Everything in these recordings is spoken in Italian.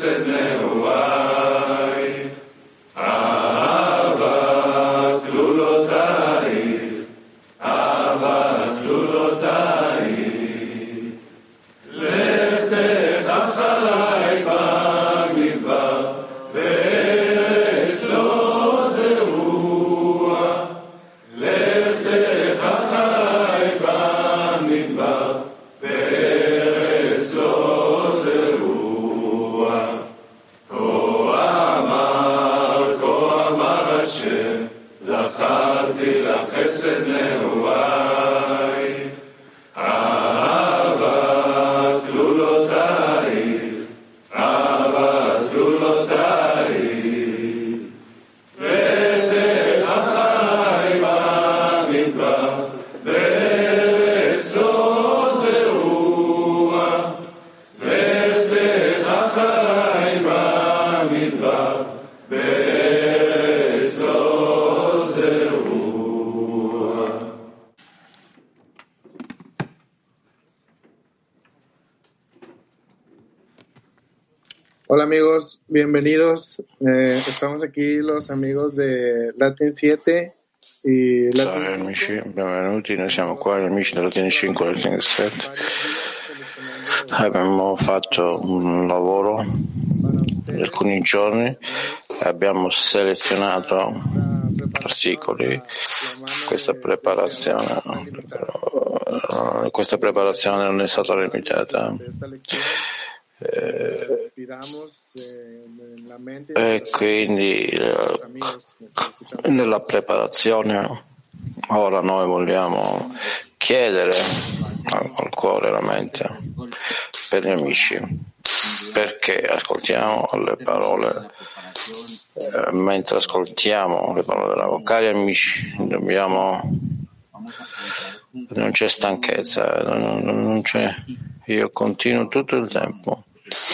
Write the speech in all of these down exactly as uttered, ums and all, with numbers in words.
חסד נעוריי, אהבה כלולותייך, אהבה כלולותייך, לכתך אחריי במדבר, בארץ לא זרוע, לכתך אחריי במדבר, בארץ לא זרוע. כה אמר, כה אמר השם, זכרתי לך חסד נעוריי, אהבה כלולותייך, אהבה כלולותייך, לכתך אחריי במדבר, בארץ לא זרוע, לכתך אחריי במדבר, בארץ לא זרוע. Hola amigos, bienvenidos. Eh, estamos aquí los amigos de Latin siete y Salve Latin amici, cinque. benvenuti, noi siamo qua gli amici della T N cinque e Latin sette. Abbiamo fatto un lavoro di alcuni giorni e abbiamo selezionato articoli, questa preparazione, eh, questa preparazione non è stata limitata. Eh, e quindi eh, nella preparazione ora noi vogliamo chiedere al cuore e alla mente per gli amici, perché ascoltiamo le parole, eh, mentre ascoltiamo le parole della cari amici dobbiamo, non c'è stanchezza, non, non c'è, io continuo tutto il tempo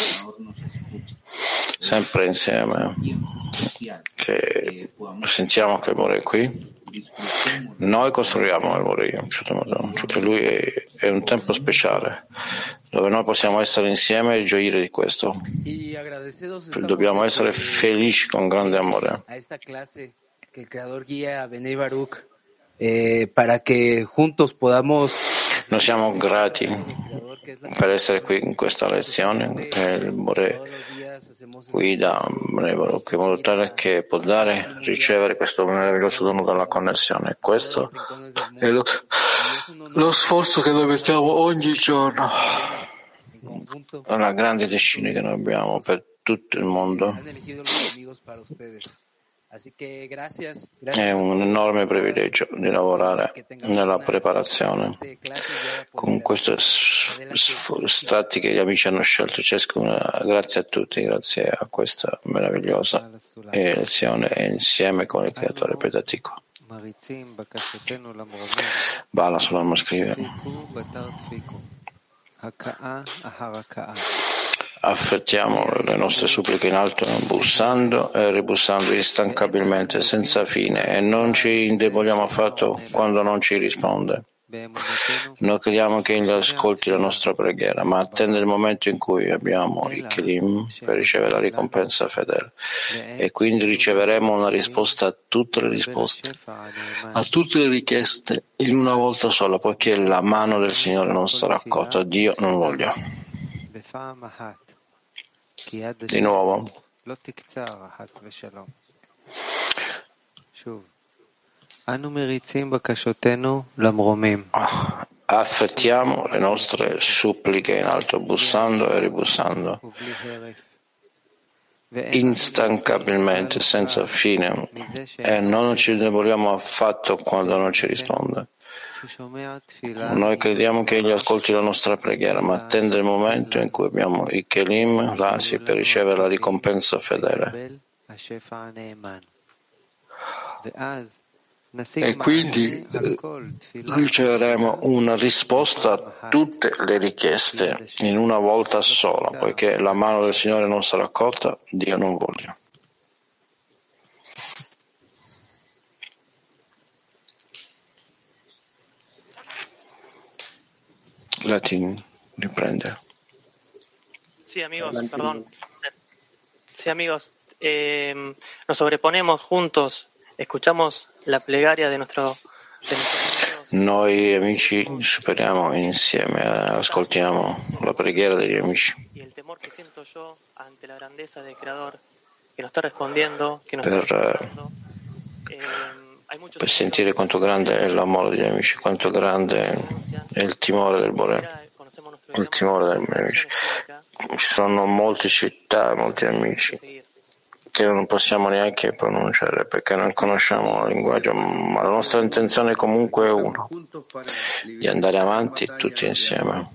sempre insieme, che sentiamo che il Bore è qui, noi costruiamo il Bore in un certo modo, cioè lui è, è un tempo speciale dove noi possiamo essere insieme e gioire di questo, dobbiamo essere felici con grande amore. Que el Creador guía a Benei Baruch eh, para que juntos podamos. Noi siamo grati per essere qui in questa lezione che il Bore guida Benei Baruch in modo tale che può dare, ricevere questo meraviglioso dono della connessione. Questo è lo, lo sforzo che noi mettiamo ogni giorno, la grande decina che noi abbiamo per tutto il mondo. È un enorme privilegio di lavorare nella preparazione con questi stati che gli amici hanno scelto ciascuno. Grazie a tutti, grazie a questa meravigliosa lezione insieme con il Creatore Pedatico. Bala Sulam scrive: affrettiamo le nostre suppliche in alto bussando e ribussando instancabilmente senza fine e non ci indeboliamo affatto quando non ci risponde. Noi crediamo che egli ascolti la nostra preghiera, ma attende il momento in cui abbiamo i kelim per ricevere la ricompensa fedele e quindi riceveremo una risposta a tutte le risposte, a tutte le richieste in una volta sola, poiché la mano del Signore non sarà accorta. Dio non voglia. Di nuovo, affrettiamo le nostre suppliche in alto, bussando e ribussando, instancabilmente, senza fine, e non ci indeboliamo affatto quando non ci risponde. Noi crediamo che egli ascolti la nostra preghiera, ma attende il momento in cui abbiamo i kelim rasi per ricevere la ricompensa fedele. E quindi riceveremo una risposta a tutte le richieste in una volta sola, poiché la mano del Signore non sarà accorta, Dio non voglia. Latin riprende. Sì, amigos, perdón. Sí, amigos, eh, nos sobreponemos juntos, escuchamos la plegaria de nuestro, de nuestros amigos. Noi amici superiamo insieme, ascoltiamo la preghiera degli amici. Y el temor que siento yo ante la grandeza del Creador, que nos está respondiendo, que nos per, está respondiendo. Eh, hay muchos per sentire quanto grande è l'amore degli amici, quanto grande è il timore del Bore, il timore degli amici. Ci sono molte città, molti amici che non possiamo neanche pronunciare perché non conosciamo il linguaggio, ma la nostra intenzione comunque è una, di andare avanti tutti insieme.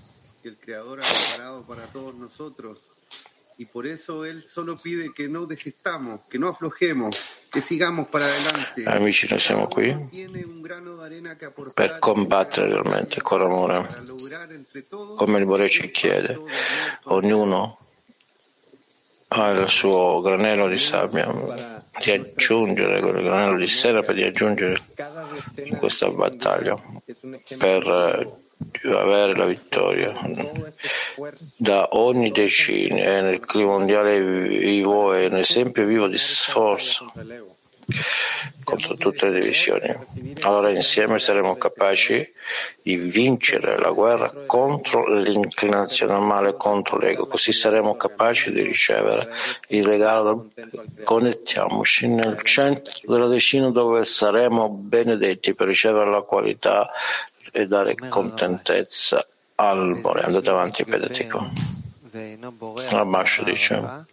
Y por eso él solo pide que no desistamos, que no aflojemos, que sigamos para adelante. Amici, noi siamo qui per combattere realmente con amore, come il Bore ci chiede. Ognuno ha il suo granello di sabbia, di aggiungere quel granello di sera di aggiungere in questa battaglia per avere la vittoria. Da ogni decina e nel clima mondiale vivo è un esempio vivo di sforzo contro tutte le divisioni. Allora insieme saremo capaci di vincere la guerra contro l'inclinazione al male, contro l'ego, così saremo capaci di ricevere il regalo. Connettiamoci nel centro della decina dove saremo benedetti per ricevere la qualità e dare contentezza al Bore. Andate avanti, pedetico. Rabash dice: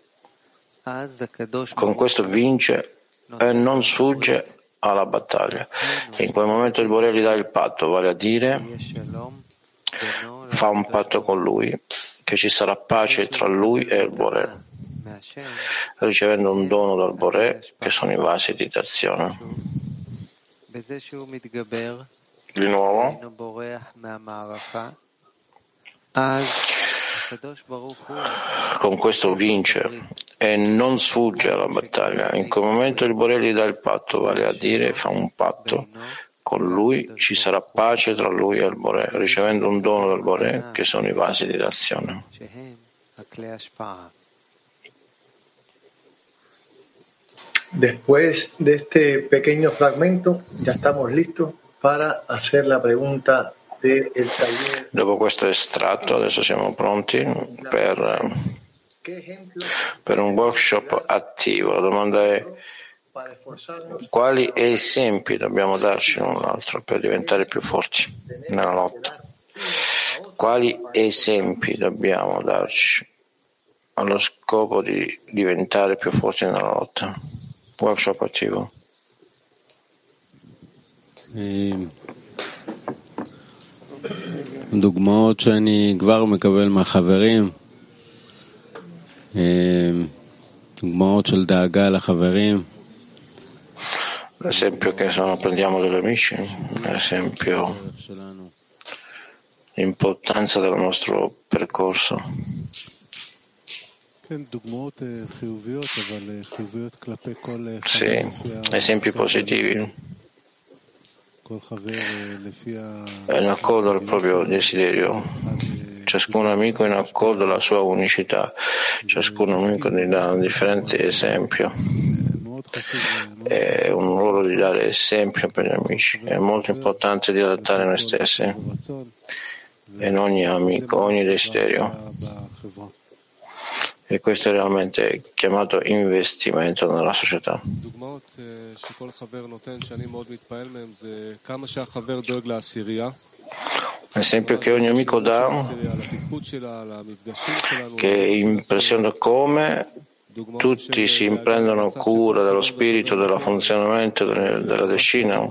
con questo vince e non sfugge alla battaglia. E in quel momento il Bore gli dà il patto, vale a dire fa un patto con lui, che ci sarà pace tra lui e il Bore, ricevendo un dono dal Bore che sono i vasi di d'azione. Di nuovo, con questo vince e non sfugge alla battaglia. In quel momento il Bore gli dà il patto, vale a dire fa un patto con lui, ci sarà pace tra lui e il Bore, ricevendo un dono del Bore che sono i vasi di d'azione. Después de este pequeño fragmento, ya estamos listos para hacer la pregunta del taller. Dopo questo estratto, adesso siamo pronti per, per un workshop attivo. La domanda è: quali esempi dobbiamo darci l'un l'altro per diventare più forti nella lotta? Quali esempi dobbiamo darci allo scopo di diventare più forti nella lotta? Workshop attivo. דוגמאות שאני כבר מקבל מהחברים, דוגמאות של דאגה לחברים. L'esempio che sono, prendiamo dagli amici, l'esempio l'importanza del nostro percorso. Sì, esempi positivi. È in accordo al proprio desiderio. Ciascun amico è in accordo alla sua unicità. Ciascun amico ne dà un differente esempio. È un ruolo di dare esempio per gli amici. È molto importante di adattare noi stessi in ogni amico, ogni desiderio. E questo è realmente chiamato investimento nella società. L'esempio che ogni amico dà, che impressiona come tutti si prendono cura dello spirito, del funzionamento della decina,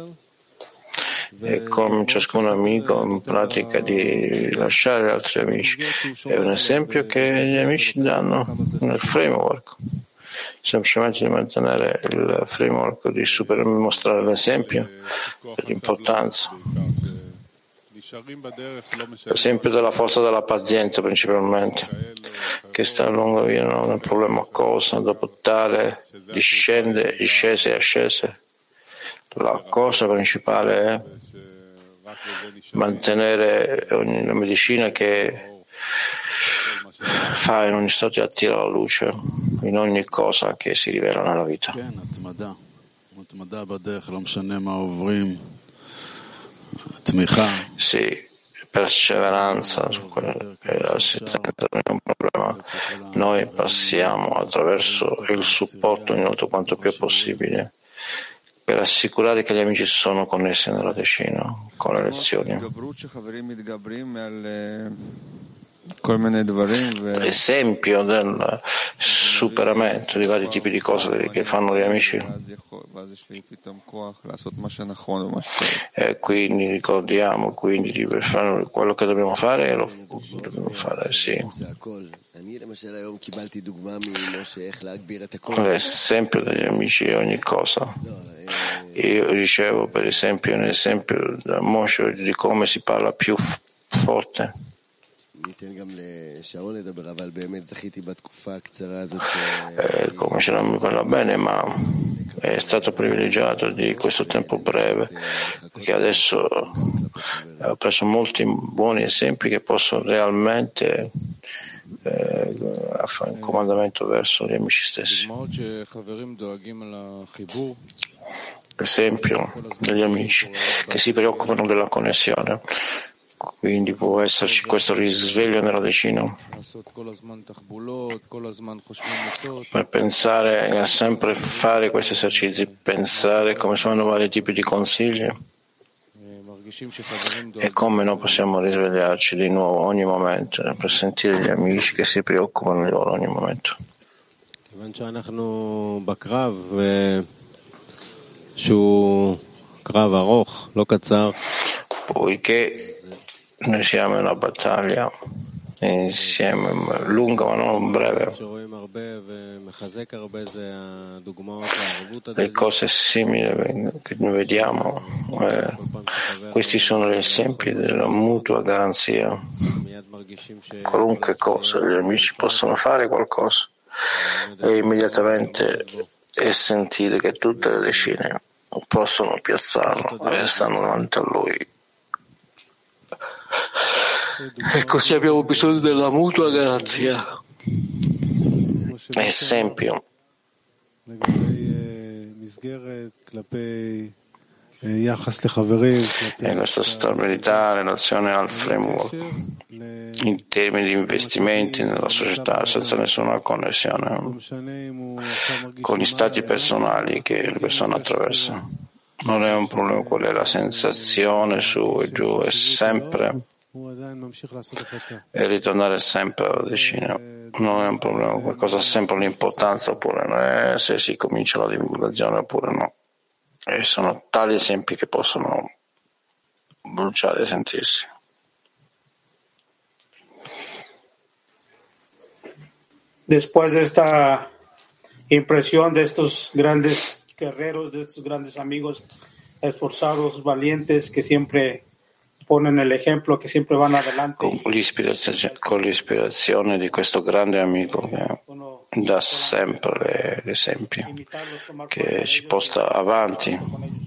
e come ciascun amico in pratica di lasciare altri amici. È un esempio che gli amici danno nel framework, semplicemente di mantenere il framework, di super, mostrare l'esempio dell'importanza. L'esempio della forza della pazienza principalmente, che sta lungo via, non è un problema cosa, dopo tale discende, discese e ascese. La cosa principale è mantenere la medicina che fa in ogni stato e attira la luce in ogni cosa che si rivela nella vita. Sì, perseveranza su quello che è l'assistenza non è un problema. Noi passiamo attraverso il supporto ogni volta quanto più è possibile per assicurare che gli amici sono connessi nella decina con le lezioni. Esempio del superamento di vari tipi di cose che fanno gli amici, e quindi ricordiamo quindi di fare quello che dobbiamo fare, lo dobbiamo fare, sì. L'esempio degli amici è ogni cosa. Io ricevo per esempio un esempio da Moshe di come si parla più f- forte. Eh, come ce non mi parla bene, ma è stato privilegiato di questo tempo breve, perché adesso ho preso molti buoni esempi che posso realmente eh, fare un comandamento verso gli amici stessi. Esempio degli amici che si preoccupano della connessione. Quindi può esserci questo risveglio nella decina per pensare a sempre fare questi esercizi, pensare come sono vari tipi di consigli e come noi possiamo risvegliarci di nuovo ogni momento per sentire gli amici che si preoccupano di loro ogni momento. Poiché noi siamo in una battaglia insieme, lunga ma non breve. Le cose simili che noi vediamo, eh, questi sono gli esempi della mutua garanzia. Qualunque cosa, gli amici possono fare qualcosa e immediatamente e sentire che tutte le decine possono piazzarlo e stanno davanti a lui. E così abbiamo bisogno della mutua garanzia. Esempio. E questa stabilità in relazione al framework in termini di investimenti nella società senza nessuna connessione con gli stati personali che le persone attraversano. Non è un problema qual è la sensazione su e giù, è sempre e ritornare sempre alla decina. Non è un problema, qualcosa ha sempre l'importanza oppure no, è se si comincia la divulgazione oppure no. E sono tali esempi che possono bruciare e sentirsi. Después de esta impresión de estos grandes guerreros, de estos grandes amigos esforzados, valientes, que siempre ponen el ejemplo, que siempre van adelante. Con l'ispirazione, con l'ispirazione di questo grande amico che dà sempre l'esempio, che ci porta avanti.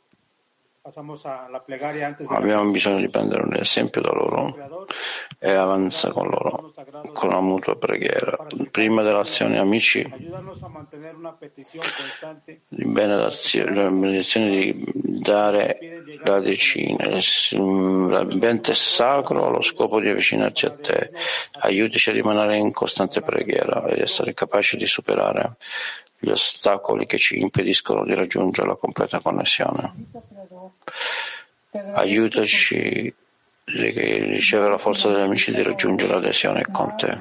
Abbiamo bisogno di prendere un esempio da loro e avanzare con loro, con la mutua preghiera. Prima dell'azione, amici, di benedizione di dare la decina, l'ambiente sacro allo scopo di avvicinarci a te. Aiutaci a rimanere in costante preghiera e essere capaci di superare gli ostacoli che ci impediscono di raggiungere la completa connessione. Aiutaci a ricevere la forza degli amici di raggiungere l'adesione con te.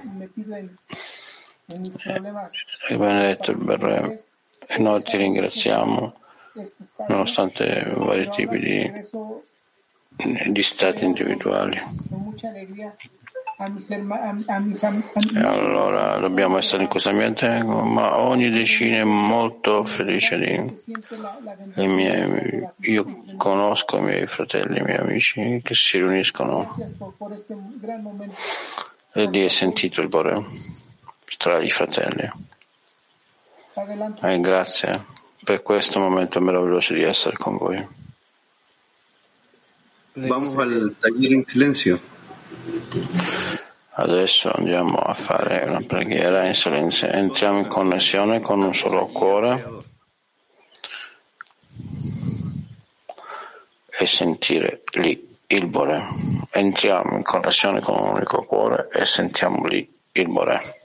E benedetto il Berre, e noi ti ringraziamo nonostante vari tipi di, di stati individuali. E allora dobbiamo essere in questo ambiente, ma ogni decina è molto felice di i miei, io conosco i miei fratelli, i miei amici che si riuniscono e lì è sentito il Bore tra i fratelli. E grazie per questo momento meraviglioso di essere con voi. Vamos al taller en silencio. Adesso andiamo a fare una preghiera in silenzio. Entriamo in connessione con un solo cuore e sentire lì il Bore. Entriamo in connessione con un unico cuore e sentiamo lì il Bore.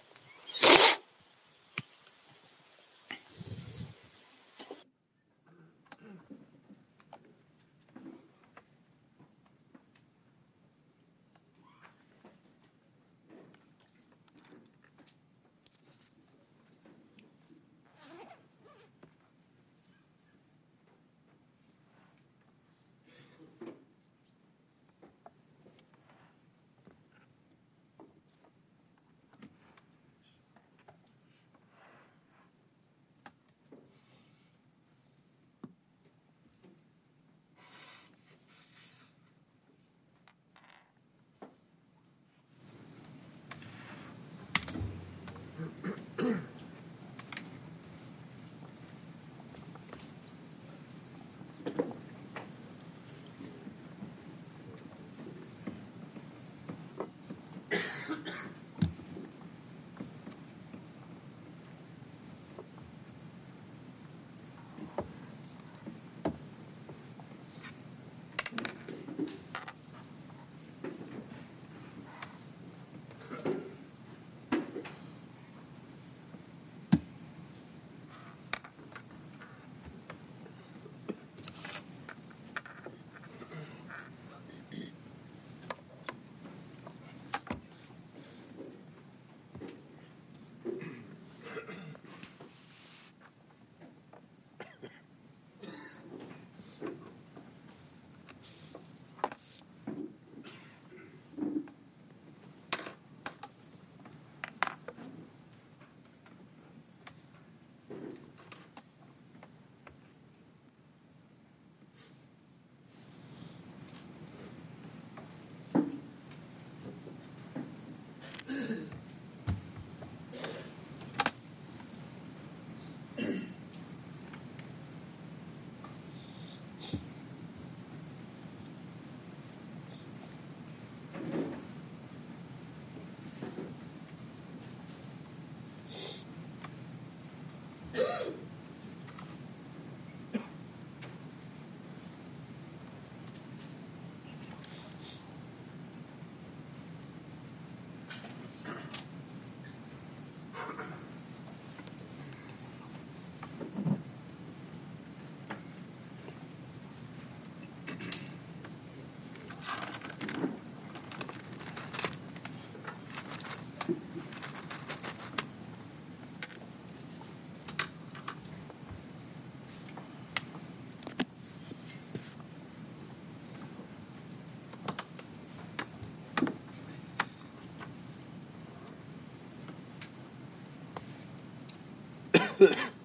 Good.